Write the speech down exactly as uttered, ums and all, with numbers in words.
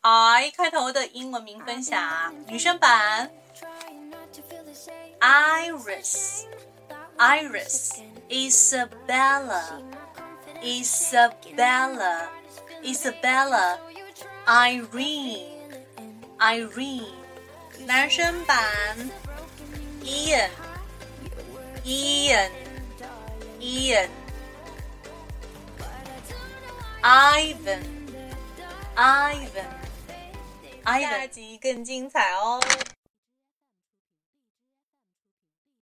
I 开头的英文名分享，女生版 Iris Iris Isabella Isabella Isabella Irene Irene 男生版 Ian Ian Ian Ivan Ivan Ivan 下集更精彩哦。